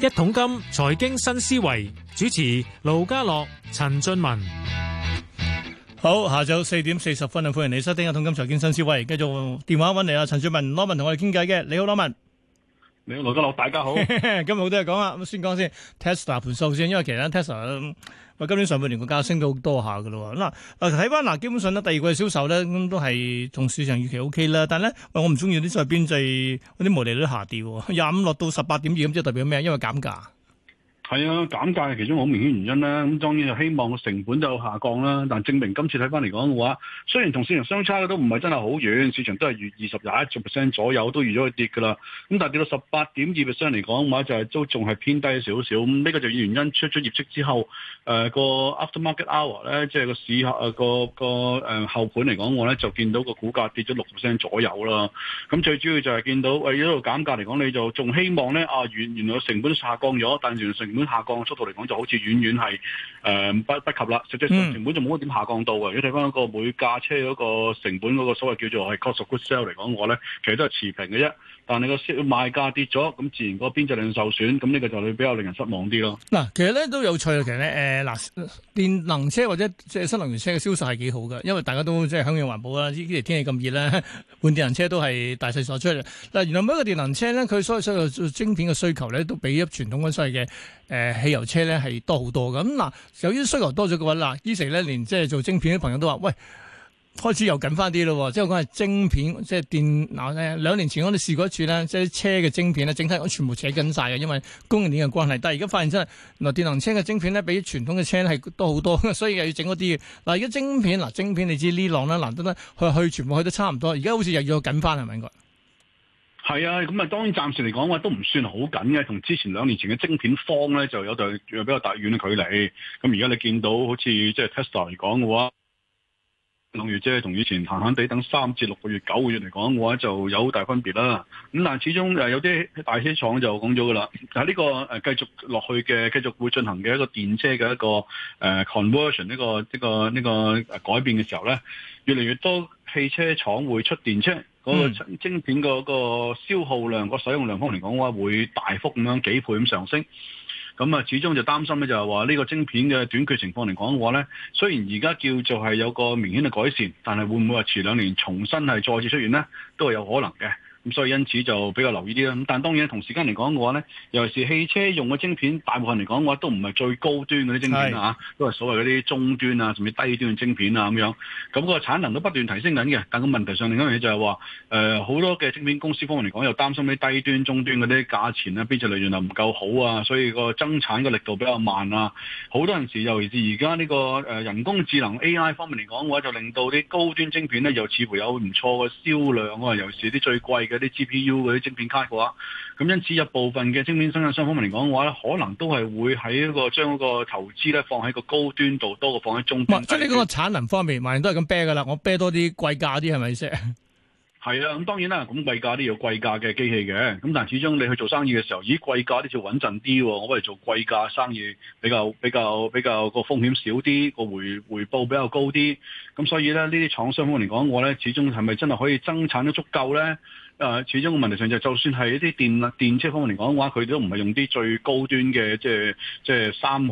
一桶金財經新思維主持盧家樂、陳俊文。 好，下晝4:40啊，歡迎你收聽一桶金財經新思維。繼續電話揾嚟啊，陳俊文羅文同我哋傾偈嘅。你好，羅文。 你好，盧家樂，大家好。 今日好多嘢講啊，咁先講先 Tesla 盤數先，因為其實 Tesla 今年上半年個價升到好多下噶咯。嗱，睇翻嗱，基本上咧第二季銷售咧咁都係同市場預期 OK 啦。但係咧，我唔中意啲所謂邊際嗰啲毛利率下跌，25落到18.2咁，即係代表咩？因為減價。 係啊，減價係其中好明顯原因啦。咁當然就希望個成本就下降啦。但證明今次睇翻嚟講嘅話，雖然同市場相差嘅都唔係真係好遠，市場都係預21% 左右都預咗佢跌㗎啦。咁但係跌到18.2% 嚟講嘅話，就係都仲係偏低少少。咁呢個就原因出咗業績之後，個 aftermarket hour 咧，即係個市個後盤嚟講嘅話咧，就見到個股價跌咗6% 左右啦。咁最主要就係見到一路減價嚟講，你就仲希望咧原來成本都下降咗，但原來成本下降嘅速度嚟講，就好似遠遠係不及啦。實際上成本就冇乜點下降到嘅。如果睇翻嗰個每架車嗰個成本嗰個所謂叫做係 cost of goods sold 嚟講嘅話咧，其實都係持平嘅啫。但係個賣價跌咗，咁自然個邊際量受損，咁呢個就比較令人失望啲咯。 嗱，其實咧都有趣啊。其實咧電能車或者即係新能源車嘅銷售係幾好嘅，因為大家都即係響應環保啦。呢啲天氣咁熱咧，換電能車都係大勢所趨。嗱，原來每一個電能車咧，佢所有晶片嘅需求咧，都比一傳統嗰所謂嘅汽油車咧係多好多嘅。咁嗱，由於需求多咗嘅話，嗱，呢時咧連即係做晶片嘅朋友都話，喂，開始又緊翻啲咯，即係講係晶片，即係電嗱咧。2年前我哋試過一次咧，即係車嘅晶片咧，整體我全部扯緊晒嘅，因為供應鏈嘅關係。但係而家發現真係，嗱，電能車嘅晶片咧，比傳統嘅車係多好多，所以又要整嗰啲嘅。嗱，而家晶片你知呢浪咧難得咧，去全部去得差唔多，而家好似又要緊翻係咪應該？ 係啊，咁啊當然暫時嚟講話都唔算好緊嘅，同之前2年前嘅晶片荒咧就有對比較大遠嘅距離。咁而家你見到好似即係 Tesla 嚟講嘅話，兩月即係同以前閒閒地等3至6個月、9個月嚟講嘅話，就有好大分別啦。咁但係始終有啲大車廠就講咗㗎啦，但係呢個繼續落去嘅、繼續會進行嘅一個電車嘅一個conversion 呢個改變嘅時候咧，越嚟越多汽車廠會出電車。嗰個晶片嗰個消耗量、個使用量方面嚟講嘅話，會大幅咁樣幾倍咁上升。咁啊，始終就擔心咧，就係話呢個晶片嘅短缺情況嚟講嘅話咧，雖然而家叫做係有個明顯嘅改善，但係會唔會話遲2年重新係再次出現咧，都係有可能嘅。咁所以因此就比較留意啲啦。咁但係當然同時間嚟講嘅話咧，尤其是汽車用嘅晶片，大部分嚟講嘅話都唔係最高端嗰啲晶片啊，都係所謂嗰啲中端啊，甚至低端嘅晶片啊咁樣。咁個產能都不斷提升緊嘅。但個問題上另一樣嘢就係話，好多嘅晶片公司方面嚟講，又擔心啲低端、中端嗰啲價錢啊，邊際利潤又唔夠好啊，所以個增產嘅力度比較慢啊。好多陣時，尤其是而家呢個人工智能 AI 方面嚟講嘅話，就令到啲高端晶片咧，又似乎有唔錯嘅銷量啊，尤其是啲最貴嘅啲 GPU 嗰啲晶片卡嘅話，咁因此有部分嘅晶片生產商方面嚟講嘅話咧，可能都係會喺將嗰個投資咧放喺個高端度，多過放喺中端。 即係你講個產能方面，萬人都係咁啤噶啦，我啤多啲貴價啲係咪先？ 係啊，咁當然啦，咁貴價都要貴價嘅機器嘅，咁但係始終你去做生意嘅時候，咦，貴價都要穩陣啲，我不如做貴價生意比較個風險少啲，個回報比較高啲，咁所以咧呢啲廠商方面嚟講，我咧始終係咪真係可以增產得足夠咧？始終個問題上就算係一啲電車方面嚟講嘅話，佢都唔係用啲最高端嘅，即係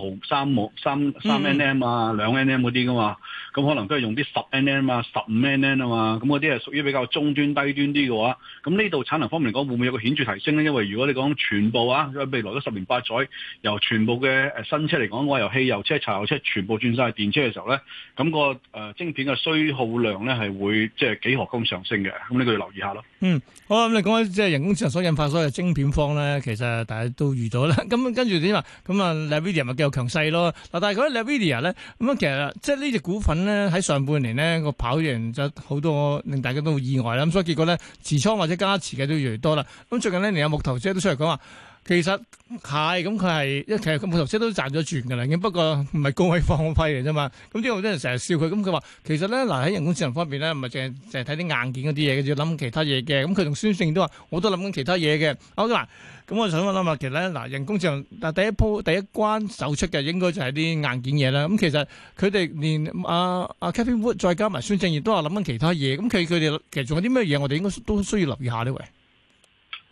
3nm 啊2nm 嗰啲噶嘛，咁可能都係用啲10nm 啊15nm啊嘛，咁嗰啲係屬於比較中端低端啲嘅話，咁呢度產能方面嚟講會唔會有個顯著提升咧？因為如果你講全部未來嗰10年8載，由全部嘅新車嚟講嘅話，由汽油車、柴油車全部轉晒電車嘅時候咧，咁個晶片嘅需耗量咧係會即係幾何咁上升嘅，咁呢個要留意下咯。 好啊，咁你講即係人工智能所引發所有晶片荒咧，其實大家都預咗啦。咁跟住點啊？咁啊 Nvidia 咪繼續強勢咯。嗱，但係嗰啲 Nvidia 咧，咁啊其實即係呢隻股份咧喺上半年咧個跑贏就好多，令大家都好意外啦。咁所以結果咧持倉或者加持嘅都越嚟越多啦。咁最近呢，連有木頭姐都出嚟講話。其實係咁，佢係其實木頭車都賺咗轉㗎啦，不過唔係高位放批嚟啫嘛。咁啲人成日笑佢，咁佢話其實咧嗱喺人工智能方面咧，唔係淨係睇啲硬件嗰啲嘢，要諗其他嘢嘅。咁佢同孫正都話，我都諗緊其他嘢嘅。好嗱，咁我想問下，其實咧嗱人工智能第一關走出嘅應該就係啲硬件嘢啦。咁其實佢哋連Cathie Wood 再加埋孫正義都話諗緊其他嘢。咁佢哋其實仲有啲咩嘢我哋應該都需要留意下呢？喂。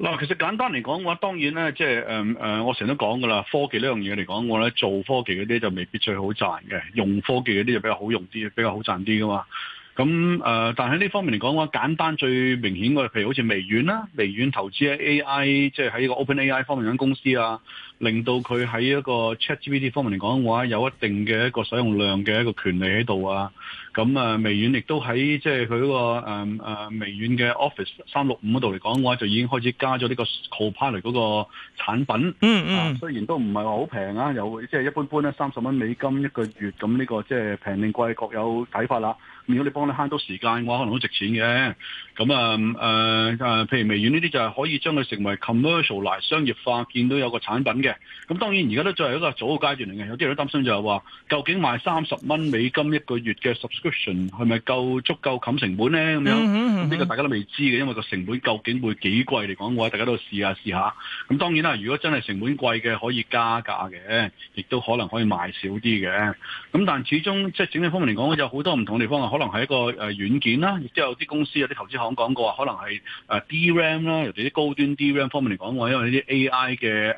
嗱，其實簡單嚟講嘅話，當然咧，即係我成日都講噶啦，科技呢樣嘢嚟講，我咧做科技嗰啲就未必最好賺嘅，用科技嗰啲就比較好用啲，比較好賺啲噶嘛。咁但係呢方面嚟講嘅話，簡單最明顯嘅，譬如好似微軟啦，微軟投資喺 AI，即係喺個 OpenAI 方面間公司啊，令到佢喺一個 ChatGPT 方面嚟講嘅話，有一定嘅一個使用量嘅一個權利喺度啊。咁微軟亦都喺即係佢嗰個微軟嘅 Office 365嗰度嚟講嘅話，就已經開始加咗呢個 Copilot 嗰個產品。雖然都唔係話好平啊，有即係一般咧$30一個月，咁呢個即係平定貴各有睇法啦。如果你幫你慳到時間嘅話，可能都值錢嘅。咁譬如微軟呢啲就係可以將佢成為 commercialize 商業化，見到有個產品嘅。咁當然而家都仲係一個早嘅階段嚟嘅，有啲人都擔心就係話，究竟賣$30一個月嘅 subscription 係咪足夠冚成本咧？咁樣呢個大家都未知嘅，因為個成本究竟會幾貴嚟講嘅話，大家都試下。咁當然啦，如果真係成本貴嘅，可以加價嘅，亦都可能可以賣少啲嘅。咁但始終即係整體方面嚟講，有好多唔同嘅地方啊，可能係一個軟件啦，亦都有啲公司有啲投資行講過，可能係DRAM 啦，尤其啲高端 DRAM 方面嚟講嘅話，因為呢啲 AI 嘅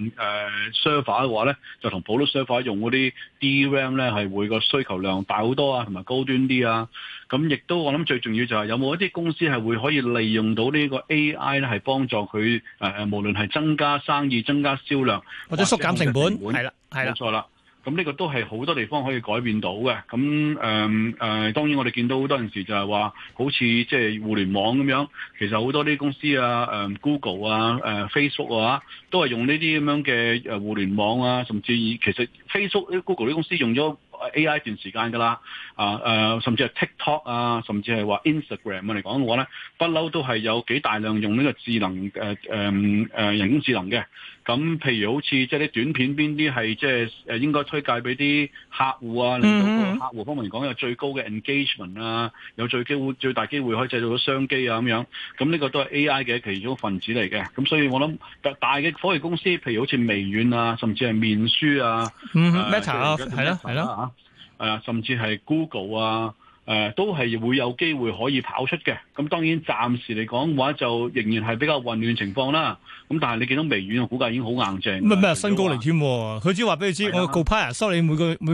server 嘅話咧，就同普通 server 用嗰啲 DRAM 咧係會個需求量大好多啊，同埋高端啲啊。咁亦都我諗最重要就係有冇一啲公司係會可以利用到呢個 AI 咧，係幫助佢無論係增加生意、增加銷量或者縮減成本，係啦， 冇錯啦。咁呢個都係好多地方可以改變到嘅。咁當然我哋見到好多陣時就係話，好似即係互聯網咁樣，其實好多啲公司啊，Google 啊，Facebook 啊，都係用呢啲咁樣嘅互聯網啊，甚至其實 Facebook、Google 啲公司用咗AI 段時間㗎啦，甚至係 TikTok 啊，甚至係話 Instagram 嚟講嘅話咧，不嬲都係有幾大量用呢個智能人工智能嘅。咁譬如好似即係啲短片邊啲係即係應該推介俾啲客戶啊，令到個客戶方面嚟講有最高嘅 engagement 啊，有最大機會可以製造到商機啊咁樣。咁呢個都係 AI 嘅其中一份子嚟嘅。咁所以我諗大嘅科技公司，譬如好似微軟啊，甚至係面書啊 ，Meta 啊，係咯。 甚至係 Google 啊，都係會有機會可以跑出嘅。咁當然暫時嚟講嘅話，就仍然係比較混亂情況啦。咁但係你見到微軟嘅股價已經好硬淨。 咩新高嚟添？佢只話俾你知，我 Copilot 收你每個月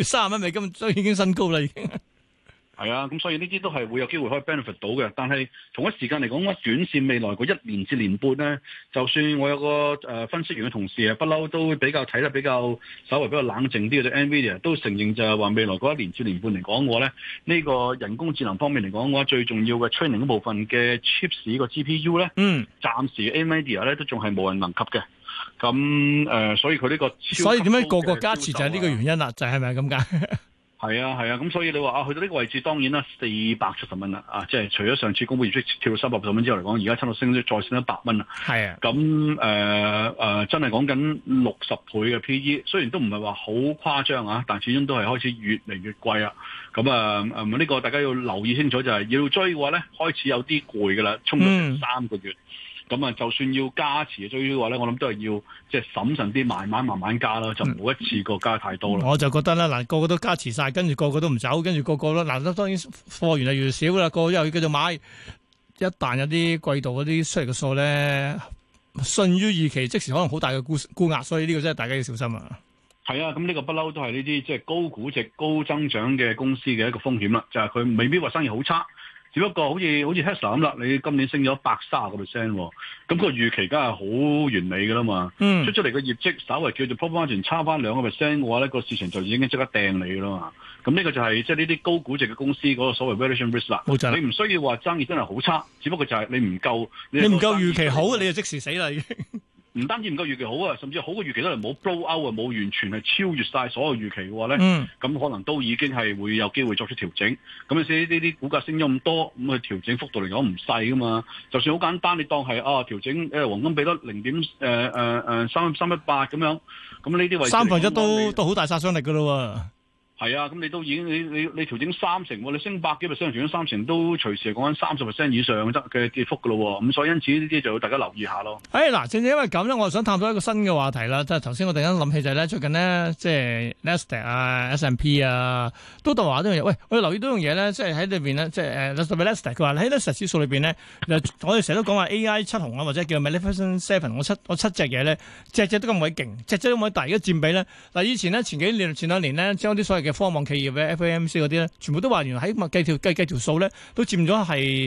$30，所以已經新高啦，已經。 係啊，咁所以呢啲都係會有機會可以 benefit 到嘅。但係同一時間嚟講，短線未來嗰1年至年半咧，就算我有個分析員嘅同事啊，不嬲都比較睇得比較稍微比較冷靜啲嘅，對 NVIDIA 都承認就係話未來嗰1年至年半嚟講嘅話咧，呢個人工智能方面嚟講嘅話，最重要嘅 training 嗰部分嘅 chips 個 GPU 咧，暫時 NVIDIA 咧都仲係無人能及嘅。咁所以佢呢個所以點解個加持就係呢個原因啦？就係咪咁解？ 係啊，咁所以你話去到呢個位置，當然啦，470蚊啦，即係除咗上次公布業績跳到380蚊之後嚟講，而家差唔多再升100蚊啦。係啊，咁真係講緊60倍嘅 PE，雖然都唔係話好誇張啊，但始終都係開始越嚟越貴啊。咁呢個大家要留意清楚，就係要追嘅話咧，開始有啲攰㗎啦，衝咗成3個月。咁就算要加持追嘅話咧，我諗都係要即係審慎啲，慢慢加啦，就唔好一次過加太多啦。 我就覺得啦，嗱，個個都加持晒，跟住個個都唔走，跟住個個都嗱，當然貨源係越少啦，個個又要繼續買。一旦有啲季度嗰啲出嚟嘅數咧，遜於預期，即時可能好大嘅沽壓，所以呢個真係大家要小心啊。 係啊，咁呢個不嬲都係呢啲即係高估值、高增長嘅公司嘅一個風險啦，就係佢未必話生意好差。只不過好似 Tesla 咁啦，你今年升咗130%，咁個預期梗係好完美㗎啦嘛。出嚟嘅業績稍微叫做 profit 差翻2%嘅話咧，個市場就已經即刻掟你㗎啦嘛。咁呢個就係即係呢啲高估值嘅公司嗰個所謂 valuation risk 啦。冇錯，你唔需要話生意真係好差，只不過就係你唔夠預期好，你就即時死啦已經。 唔單止唔夠預期好啊，甚至好過預期都係冇 blow out 啊，冇完全係超越晒所有預期嘅話咧，咁可能都已經係會有機會作出調整。咁所以呢啲股價升咗咁多，咁佢調整幅度嚟講唔細噶嘛。就算好簡單，你當係調整黃金比率0.318咁樣，咁呢啲位置 1/3都好大殺傷力噶咯喎。 係啊，咁你都已經你調整30%喎，你升百幾%，調整30%都隨時係講緊30%以上嘅跌幅噶咯喎，咁所以因此呢啲就要大家留意下咯。 嗱，正正因為咁咧，我就想探討一個新嘅話題啦。即係頭先我突然間諗起就係咧，最近呢，即係 Nasdaq 啊、S&P 啊，都話呢樣嘢。喂，我哋留意到樣嘢咧，即係喺裏邊咧，即係特別 Nasdaq 佢話喺 Nasdaq 指數裏邊咧，我哋成日都講話 AI 7雄啊，或者叫 Magnificent Seven，我七隻嘢咧，隻隻都咁鬼勁，隻隻都咁鬼大，而家佔比咧，嗱以前呢，前兩年咧，將啲所謂嘅科網企業嘅 FAMC 嗰啲咧，全部都話原來喺計條數咧，都佔咗係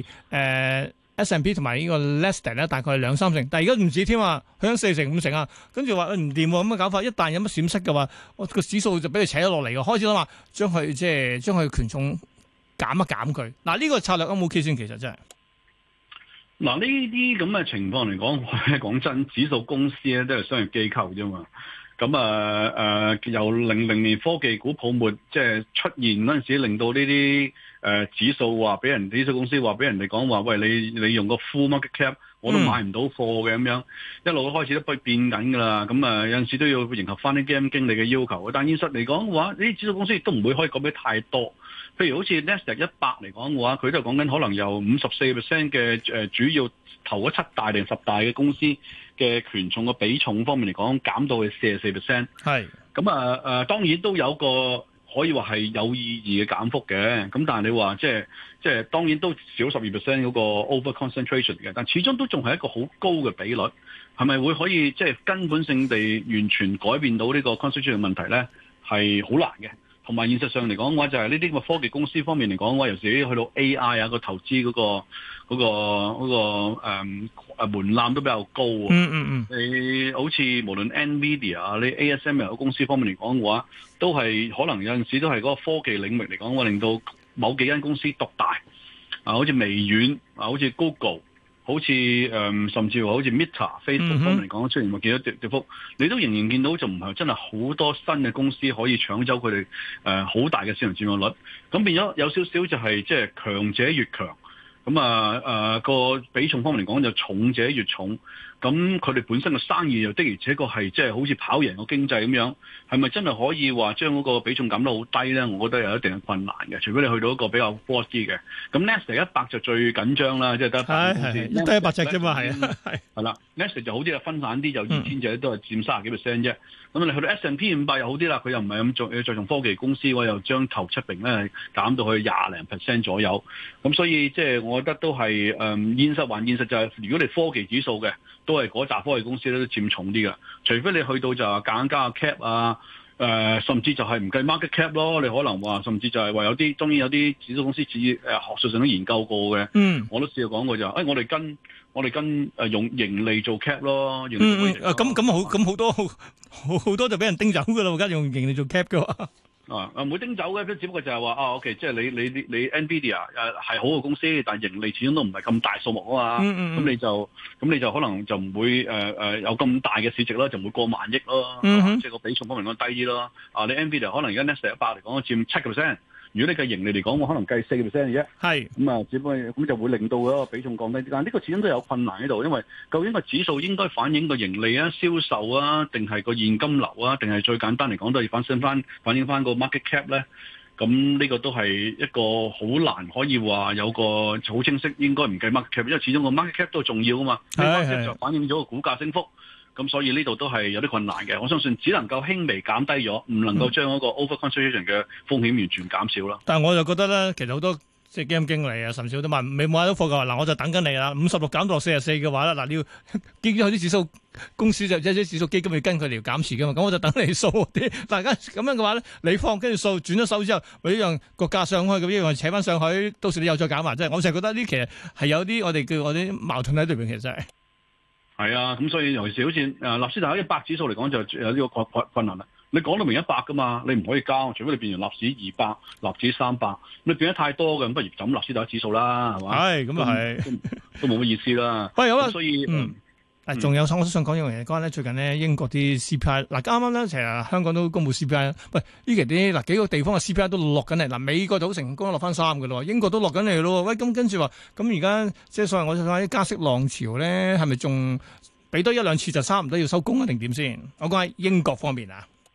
S&P 同埋呢個 Nasdaq 咧，大概係2-3成，但係而家唔止添啊，去緊4成5成啊，跟住話唔掂喎，咁嘅搞法，一旦有乜閃失嘅話，我個指數就俾佢扯咗落嚟嘅，開始諗話將佢權重減一減佢。嗱呢個策略有冇 OK 先？其實真係嗱呢啲咁嘅情況嚟講，講真，指數公司咧都係商業機構啫嘛。咁由00年科技股泡沫即係出現嗰陣時，令到呢啲指數話俾指數公司話俾人哋講話，喂你用個 full market cap 我都買唔到貨嘅咁樣，一路都開始都變緊㗎啦。咁有陣時都要迎合翻啲基金經理嘅要求。但現實嚟講嘅話，呢啲指數公司亦都唔會可以講俾太多。譬如好似 Nasdaq 100嚟講嘅話，佢都係講緊可能由54% 嘅主要頭嗰7大定10大嘅公司嘅權重嘅比重方面嚟講，減到去44%。係咁當然都有個可以話係有意義嘅減幅嘅。咁但係你話即係當然都少12% 嗰個 over concentration 嘅，但始終都仲係一個好高嘅比率。係咪會可以即係根本性地完全改變到呢個 concentration 嘅問題咧？係好難嘅。同埋現實上嚟講嘅話，就係呢啲咁嘅科技公司方面嚟講嘅話，尤其去到 AI 啊個投資嗰個門檻都比較高啊。你好似無論 NVIDIA 啊，你 ASML 公司方面嚟講嘅話，都係可能有陣時都係嗰個科技領域嚟講嘅話，令到某幾間公司獨大啊，好似微軟啊，好似 Google。好似甚至乎好似 Meta、Facebook 方面嚟講，出現過幾多跌幅，你都仍然見到就唔係真係好多新嘅公司可以搶走佢哋好大嘅市場佔有率，咁變咗有少少就係即係強者越強，咁個比重方面嚟講就重者越重。咁佢哋本身嘅生意又的而且確係即係好似跑贏個經濟咁樣，係咪真係可以話將嗰個比重減得好低咧？我覺得有一定嘅困難嘅，除非你去到一個比較 broad 啲嘅。咁 Nasdaq 100就最緊張啦，即係得100公司， 得100隻啫嘛，係啦。Nasdaq 就好啲啊，分散啲，有2000隻都係佔30幾%啫。咁你去到 S&P 500又好啲啦，佢又唔係咁着重科技公司，我又將頭7名咧減到去20%左右。咁所以即係我覺得都係現實還現實就係，如果你科技指數嘅。都係嗰紮科技公司咧都佔重啲嘅，除非你去到就係夾硬加個 cap 啊，甚至就係唔計 market cap 咯。你可能話甚至就係話有啲，當然有啲指數公司學術上都研究過嘅。我都試過講過就係，我哋跟用盈利做 cap 咯。 咁好多就俾人叮走㗎啦，而家用盈利做 cap 嘅話。 唔會叮走嘅，只不過就係話OK，即係你 NVIDIA 係好嘅公司，但係盈利始終都唔係咁大數目啊嘛，咁你就可能就唔會有咁大嘅市值啦，就唔會過萬億咯，即係個比重方面講低啲咯。你 NVIDIA 可能而家 Nasdaq 100嚟講佔7%。如果你計盈利嚟講，我可能計4%嘅啫。係咁只不過咁就會令到嗰個比重降低啲。但係呢個始終都有困難喺度，因為究竟個指數應該反映個盈利啊、銷售啊，定係個現金流啊，定係最簡單嚟講都係反映翻個 market cap 咧？咁呢個都係一個好難可以話有個好清晰，應該唔計 market cap，因為始終個 market cap 都重要啊嘛。market cap 就反映咗個股價升幅。咁所以呢度都係有啲困難嘅，我相信只能夠輕微減低咗，唔能夠將嗰個 over concentration 嘅風險完全減少啦。 但係我就覺得咧，其實好多即係基金經理啊，甚至都話未買到貨嘅話，嗱我就等緊你啦。56減到44嘅話咧，嗱你要基金有啲指數公司就即係啲指數基金要跟佢哋減持嘅嘛，咁我就等你掃啲。大家咁樣嘅話咧，你放跟住掃轉咗手之後，咪一樣個價上去，咁一樣扯翻上去，到時你又再減埋，即係我成日覺得呢其實係有啲我哋叫我啲矛盾喺裏邊，其實係。 係啊，咁所以尤其是好似納斯達克100指數嚟講，就有呢個困難啦。你講到明100噶嘛，你唔可以交，除非你變成納指200、納指300，你變得太多嘅，咁不如就咁納斯達克指數啦，係嘛？係咁啊，係都冇乜意思啦。喂，好啦，所以仲有我都想講一樣嘢，關咧最近呢英國啲 CPI， 嗱啱啱咧其實香港都公布 CPI， 喂呢期啲幾個地方嘅 CPI 都落緊嚟，嗱美國就好成功落翻3嘅咯，英國都落緊嚟咯，喂咁跟住話，咁而家即係所謂我想講啲加息浪潮咧，係咪仲俾多1-2次就差唔多要收工啊定點先？我講喺英國方面啊。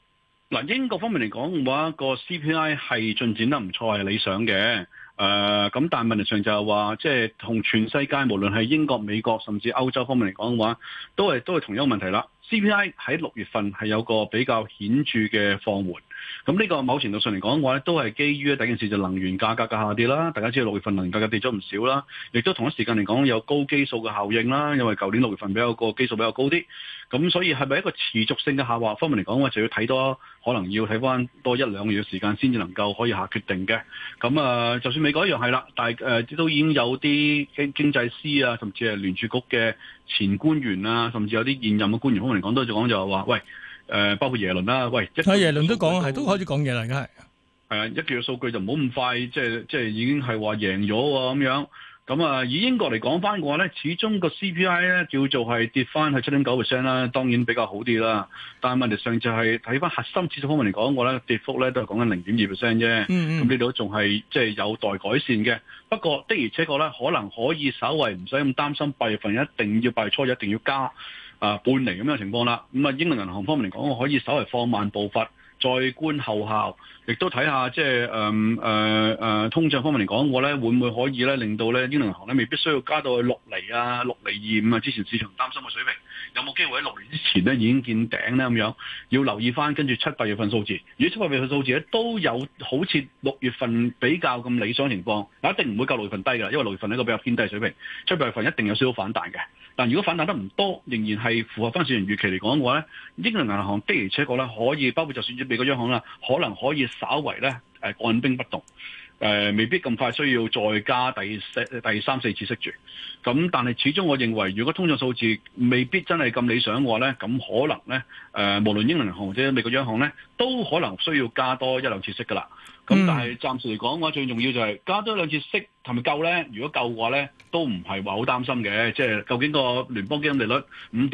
嗱，英國方面嚟講嘅話，個 CPI 係進展得唔錯，係理想嘅。咁但係問題上就係話，即係同全世界無論係英國、美國甚至歐洲方面嚟講嘅話，都係同樣問題啦。CPI 喺6月份係有個比較顯著嘅放緩。咁呢個某程度上嚟講嘅話咧，都係基於第一件事就能源價格嘅下跌啦。大家知道6月份能源價格跌咗唔少啦，亦都同一時間嚟講有高基數嘅效應啦。因為舊年6月份個基數比較高啲，咁所以係咪一個持續性嘅下滑方面嚟講嘅話，就要睇多，可能要睇翻多1-2個月嘅時間先至能夠可以下決定嘅。咁就算美國一樣係啦，但係都已經有啲經濟師啊，甚至係聯儲局嘅前官員啊，甚至有啲現任嘅官員方面嚟講都講就係話，喂。包括耶倫啦，喂， 耶倫都講係都開始講嘢啦，而家係一個月數據就唔好咁快，即係已經係話贏咗喎咁樣。咁以英國嚟講翻嘅話咧，始終個 CPI 咧叫做係跌翻係7.9% 啦，當然比較好啲啦。但係問題上就係睇翻核心指數方面嚟講嘅話咧，跌幅咧都係講緊0.2% 啫。咁呢度仲係即係有待改善嘅。不過的而且確咧，可能可以稍為唔使咁擔心8月份8月初一定要加。半厘咁樣嘅情況啦，咁英倫銀行方面嚟講，我可以稍微放慢步伐，再觀後效，亦都睇下即係通脹方面嚟講，我咧會唔會可以咧令到咧英倫銀行咧未必需要加到去6厘啊、6.25厘啊，之前市場擔心嘅水平，有冇機會喺6年之前咧已經見頂咧咁樣？要留意翻跟住7-8月份數字，如果7-8月份數字咧都有好似6月份比較咁理想情況，一定唔會夠6月份低㗎，因為6月份係一個比較偏低嘅水平，7-8月份一定有少少反彈嘅。但如果反彈得唔多，仍然係符合翻市場預期嚟講嘅話咧，英倫銀行的而且確咧可以，包括就算美國央行啦，可能可以稍為咧按兵不動，未必咁快需要再加第3-4次息住。咁但係始終我認為，如果通脹數字未必真係咁理想嘅話咧，咁可能咧無論英倫銀行或者美國央行咧，都可能需要加多1-2次息㗎啦。咁但係暫時嚟講嘅話，最重要就係加多1-2次息係咪夠咧？如果夠嘅話咧，都唔係話好擔心嘅。即係究竟個聯邦基金利率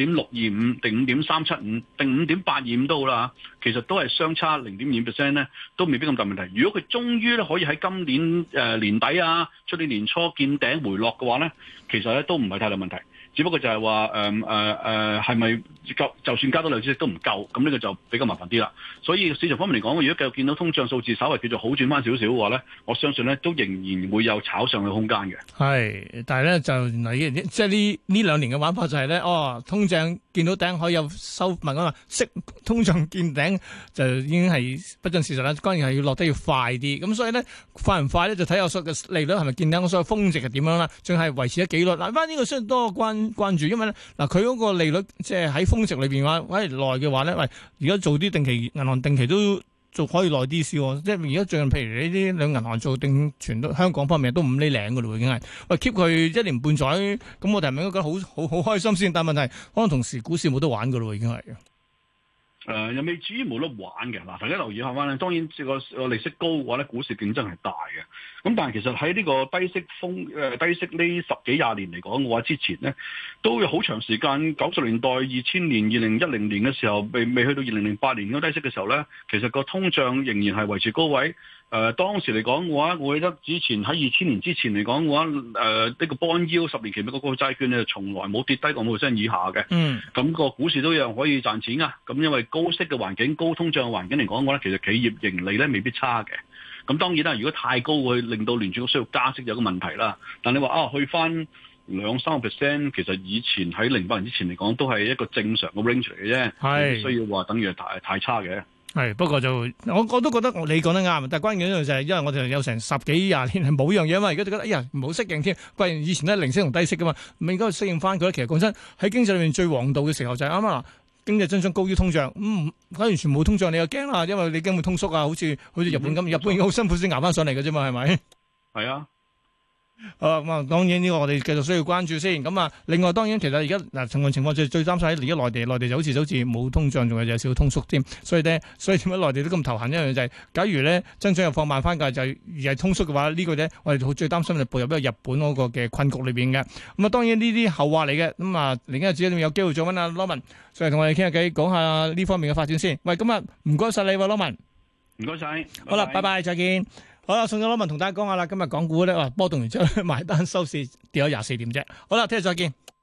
5.625定5.375定5.825都好啦，其實都係相差0.2% 咧，都未必咁大問題。如果佢終於咧可以喺今年年底啊、出年年初見頂回落嘅話咧，其實咧都唔係太大問題。只不過就係話係咪夠？就算加多2次息都唔夠，咁呢個就比較麻煩啲啦。所以市場方面嚟講，如果繼續見到通脹數字稍微叫做好轉翻少少嘅話咧，我相信咧都仍然會有炒上嘅空間嘅。係， 但係咧就原來即係呢2年嘅玩法就係咧，通脹見到頂可以有收，唔係講話息通脹見頂就已經係不盡事實啦。當然係要落得要快啲，咁所以咧快唔快咧就睇下所嘅利率係咪見頂，我所謂峰值係點樣啦，仲係維持咗幾率。嗱，翻呢個需要多關注，因為咧嗱佢嗰個利率即係喺峰值裏邊話，喂耐嘅話咧，喂而家做啲定期銀行定期都做可以耐啲先喎，即係而家最近譬如呢啲兩銀行做定存都香港方面都5厘零嘅咯，已經係喂 keep 佢1年半載，咁我哋係咪應該覺得好開心先？但係問題可能同時股市冇得玩嘅咯，已經係。 又未至於冇得玩嘅。嗱，大家留意下翻咧，當然個利息高嘅話咧，股市競爭係大嘅。咁但係其實喺呢個低息呢10幾20年嚟講嘅話，之前咧都有好長時間90年代、2000年、2010年嘅時候，未去到2008年嗰低息嘅時候咧，其實個通脹仍然係維持高位。當時嚟講嘅話，我記得之前喺2000年之前嚟講嘅話，呢個 bond yield 10年期美國國債券咧，從來冇跌低過5%以下嘅。咁個股市都一樣可以賺錢㗎。咁因為高息嘅環境、高通脹嘅環境嚟講嘅話咧，其實企業盈利咧未必差嘅。咁當然啦，如果太高會令到聯儲局需要加息有個問題啦。但你話去翻2-3%，其實以前喺08年之前嚟講都係一個正常嘅 range 嚟嘅啫，唔需要話等於太差嘅。 係，不過就我都覺得你講得啱，但係關鍵一樣就係，因為我哋有成10幾20年係冇一樣嘢啊嘛，而家就覺得唔好適應添。關鍵以前都係零息同低息噶嘛，咪應該適應翻佢。其實講真，喺經濟裏面最王道嘅時候就係啱啱經濟增長高於通脹，假如完全冇通脹，你又驚啦，因為你驚會通縮啊，好似日本咁，日本已經好辛苦先捱翻上嚟嘅啫嘛，係咪？係啊。咁啊，當然呢個我哋繼續需要關注先。咁啊，另外當然其實而家情況最擔心喺而家內地就好似冇通脹，仲有少少通縮添。所以點解內地都咁頭痕一樣就係，假如咧增長又放慢翻㗎，就而係通縮嘅話，呢個咧我哋最擔心就步入一個日本嗰個嘅困局裏邊嘅。咁啊，當然呢啲後話嚟嘅。咁啊，另一日子有機會再揾阿羅文上嚟同我哋傾下偈，講下呢方面嘅發展先。喂，咁啊，唔該晒你喎，羅文。唔該晒。好啦，拜拜，再見。好啦，送咗羅文同大家講下啦。今日港股咧，波動完之後埋單收市跌咗24點啫。好啦，聽日再見。